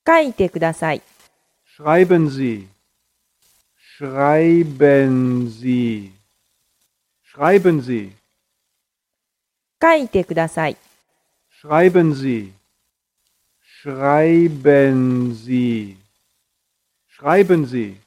書いてください。 Schreiben Sie. Schreiben Sie. Schreiben Sie. 書いてください。 Schreiben Sie. Schreiben Sie. Schreiben Sie.